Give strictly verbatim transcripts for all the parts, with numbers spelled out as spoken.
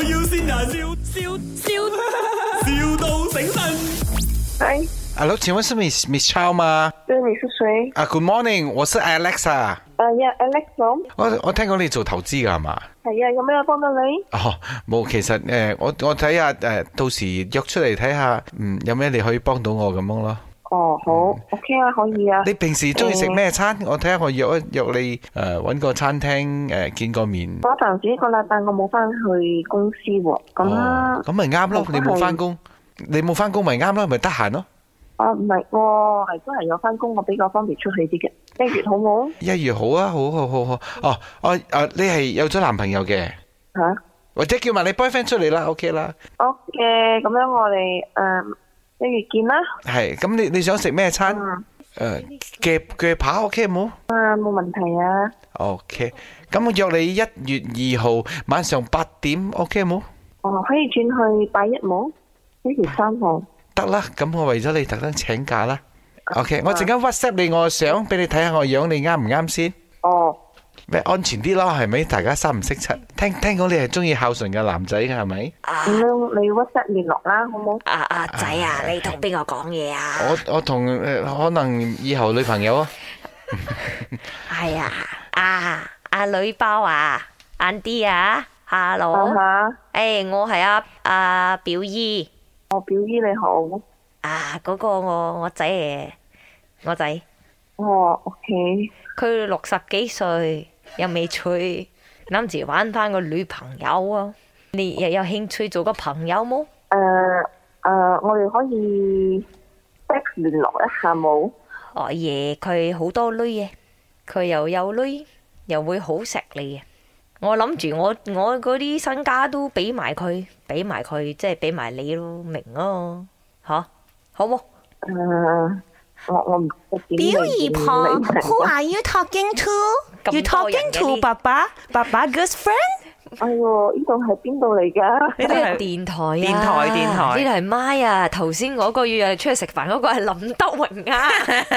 要先人，笑笑笑，,笑到醒神。 嗨， Hello， 请问是 Miss Miss Chow 吗？ 对，你是谁？ 啊、Good morning， 我是 Alex 啊。 啊呀，Alex 咯。 我我聽講你做投資㗎係嘛？ 係啊，有咩幫到你？ 哦，冇，其實誒、呃，我我睇下誒，到時約出嚟睇下，嗯，有咩你可以幫到我咁樣咯。 哦，好、嗯、，OK 啊，可以啊。 你平時中意食咩餐？嗯、我睇下我約一約你誒，搵、呃、個餐廳誒、呃、見個面。 我暫時呢個禮拜我冇翻去公司喎，咁咁咪啱咯。你冇翻工，你冇翻工咪啱咯，咪得閒咯。 啊，唔係，我係都係有翻工，我比較方便出去啲嘅。一月好冇？一月好啊，好好好好。哦，我誒，你係有咗男朋友嘅？ 吓、啊？ 或者叫埋你 boyfriend 出嚟啦 ，OK 啦。 OK，咁樣我哋誒一月見啦。係， 咁你你想食咩餐？誒，鋸鋸扒 OK 冇？ 啊，冇問題啊。 OK，咁我約你一月二號晚上八點 OK 冇？ 哦，可以轉去八一冇？一月三號。得啦，咁我為咗你特登請假啦。OK， 我陣間 WhatsApp 你我相俾你睇下我樣，你啱唔啱先？哦，咩安全啲咯，係咪？大家三唔識七。聽聽講你係中意孝順嘅男仔嘅係咪？ 咁樣你 WhatsApp 聯絡啦，好冇？ 啊啊仔啊，你同邊個講嘢啊？ 我我同誒可能以後女朋友啊。 係啊，啊阿女包啊，Andy 啊 ，Hello，誒我係阿阿表姨。 我表姨你好， 啊嗰、那個我我仔嚟，我仔， 哦 OK， 佢六十幾歲又未娶，諗住玩翻個女朋友啊！你又有興趣做個朋友冇？ 誒誒，我哋可以 text 聯絡一下冇？ 哦耶，佢好多女嘅，佢又有女，又會好錫你嘅。我諗住我我嗰啲身家都俾埋佢，俾埋佢，即係俾埋你咯，明咯，吓好冇？ 誒，我我唔表姨婆 ，Who are you talking to？You talking to 爸爸？爸爸 good friend？ 哎呦，呢度係邊度嚟㗎？ 呢度係電台啊！ 電台電台， 呢度係咪啊？頭先嗰個要出去食飯嗰個係林德榮啊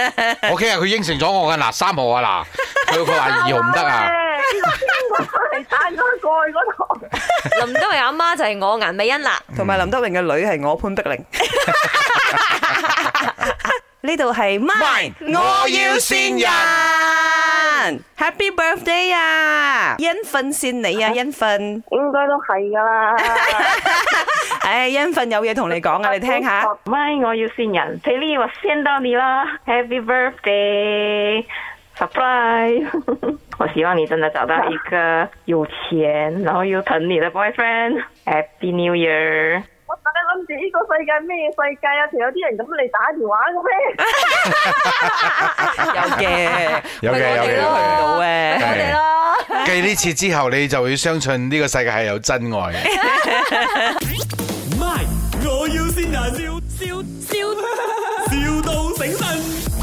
！OK 啊，佢應承咗我㗎嗱，三號啊嗱，佢佢話二號唔得啊！ 係帶咗過去嗰度。 林德榮阿媽就係我顏美欣啦， 同埋林德榮嘅女係我潘碧玲。呢度係咪？我要線人 ，Happy Birthday 啊！欣份線你啊，欣份應該都係噶啦。 唉，欣份有嘢同你講啊，你聽下。 咪我要線人，佩麗我線到你啦 ，Happy Birthday surprise！ 我希望你真的找到一個有錢，然後又疼你的 boyfriend。Happy New Year！我大家諗住呢個世界咩世界啊？仲有啲人咁嚟打電話嘅咩？ 有嘅， 有嘅，有嘅， 去唔到嘅， 我哋咯。 繼呢次之後，你就會相信呢個世界係有真愛。 咪我要先人，笑笑笑，,笑到醒神。